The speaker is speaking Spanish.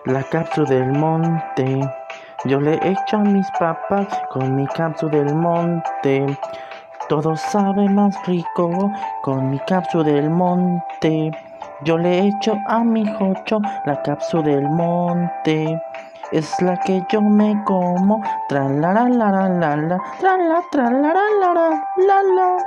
La cápsula del monte, yo le echo a mis papás con mi cápsula del monte. Todo sabe más rico con mi cápsula del monte. Yo le echo a mi jocho la cápsula del monte. Es la que yo me como, tra la la la la la, tra la la la la la.